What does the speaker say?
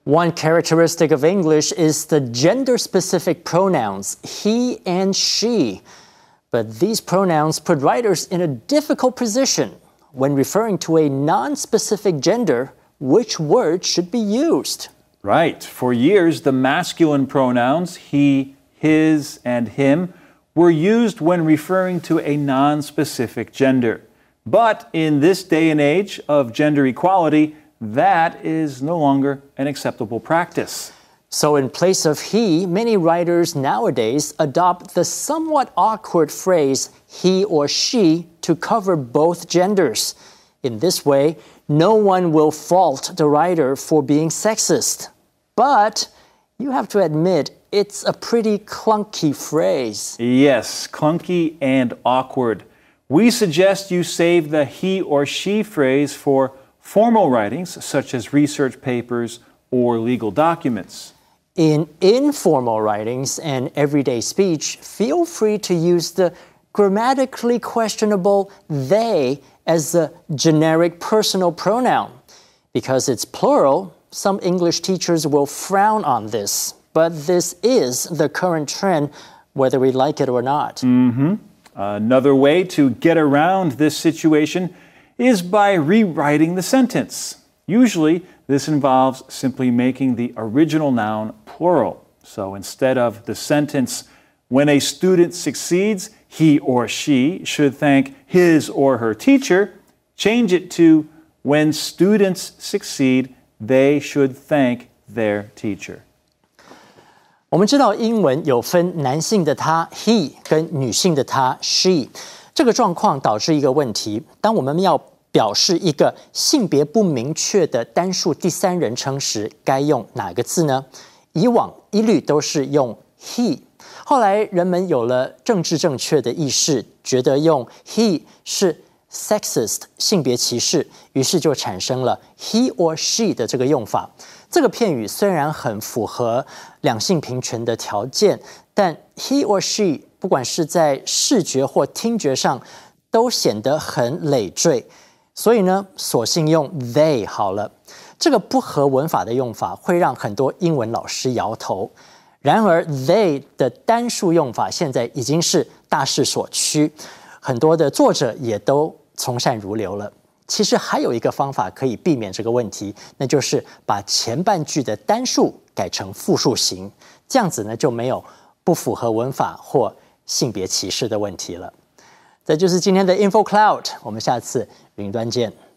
One characteristic of English is the gender-specific pronouns he and she. But these pronouns put writers in a difficult position. When referring to a non-specific gender, which word should be used? Right. For years, the masculine pronouns he, his, and him were used when referring to a non-specific gender. But in this day and age of gender equality, that is no longer an acceptable practice. So in place of he, many writers nowadays adopt the somewhat awkward phrase he or she to cover both genders. In this way, no one will fault the writer for being sexist. But you have to admit, it's a pretty clunky phrase. Yes, clunky and awkward. We suggest you save the he or she phrase for formal writings, such as research papers or legal documents. In informal writings and everyday speech, feel free to use the grammatically questionable they as the generic personal pronoun. Because it's plural, some English teachers will frown on this. But this is the current trend, whether we like it or not. Another way to get around this situation is by rewriting the sentence. Usually, this involves simply making the original noun plural. So instead of the sentence, when a student succeeds, he or she should thank his or her teacher, change it to, when students succeed, they should thank their teacher. 我们知道英文有分男性的他 he 跟女性的她 she， 这个状况导致一个问题，当我们要表示一个性别不明确的单数第三人称时，该用哪个字呢？以往一律都是用 he， 后来人们有了政治正确的意识，觉得用 he 是 sexist 性别歧视，于是就产生了 he or she 的这个用法。这个片语虽然很符合两性平权的条件，但 he or she 不管是在视觉或听觉上都显得很累赘，所以呢，索性用 they 好了。这个不合文法的用法会让很多英文老师摇头。然而 they 的单数用法现在已经是大势所趋，很多的作者也都从善如流了。其实还有一个方法可以避免这个问题，那就是把前半句的单数改成复数型，这样子呢就没有不符合文法或性别歧视的问题了。这就是今天的 InfoCloud， 我们下次云端见。